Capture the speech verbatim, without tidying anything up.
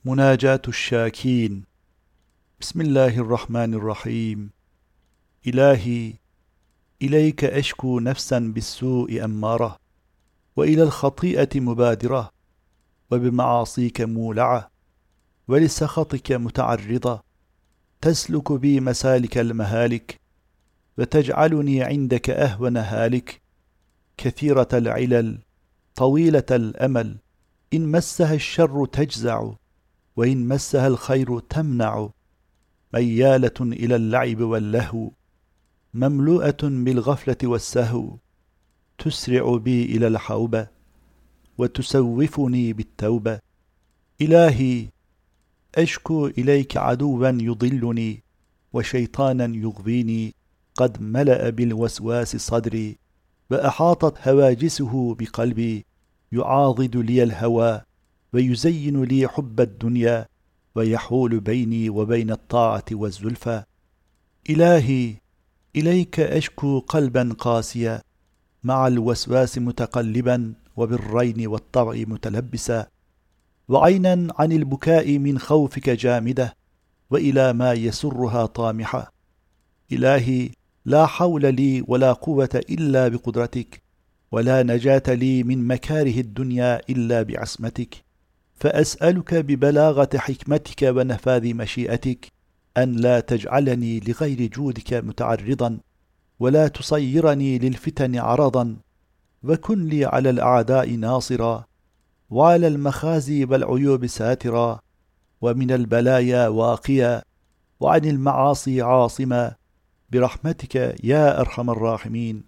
مناجاة الشاكين. بسم الله الرحمن الرحيم. إلهي، إليك أشكو نفسا بالسوء أمارة، وإلى الخطيئة مبادرة، وبمعاصيك مولعة، ولسخطك متعرضة، تسلك بي مسالك المهالك، وتجعلني عندك أهون هالك، كثيرة العلل، طويلة الأمل، إن مسها الشر تجزع، وإن مسها الخير تمنع، ميالة إلى اللعب واللهو، مملوءة بالغفلة والسهو، تسرع بي إلى الحوبة، وتسوفني بالتوبة. إلهي، أشكو إليك عدوا يضلني، وشيطانا يغويني، قد ملأ بالوسواس صدري، وأحاطت هواجسه بقلبي، يعاضد لي الهوى، ويزين لي حب الدنيا، ويحول بيني وبين الطاعة والزلفى. إلهي، إليك أشكو قلبا قاسيا، مع الوسواس متقلبا، وبالرين والطبع متلبسا، وعينا عن البكاء من خوفك جامدة، وإلى ما يسرها طامحة. إلهي، لا حول لي ولا قوة إلا بقدرتك، ولا نجاة لي من مكاره الدنيا إلا بعصمتك، فأسألك ببلاغة حكمتك ونفاذ مشيئتك أن لا تجعلني لغير جودك متعرضا، ولا تصيرني للفتن عرضا، وكن لي على الأعداء ناصرا، وعلى المخازي والعيوب ساترا، ومن البلايا واقيا، وعن المعاصي عاصما، برحمتك يا أرحم الراحمين.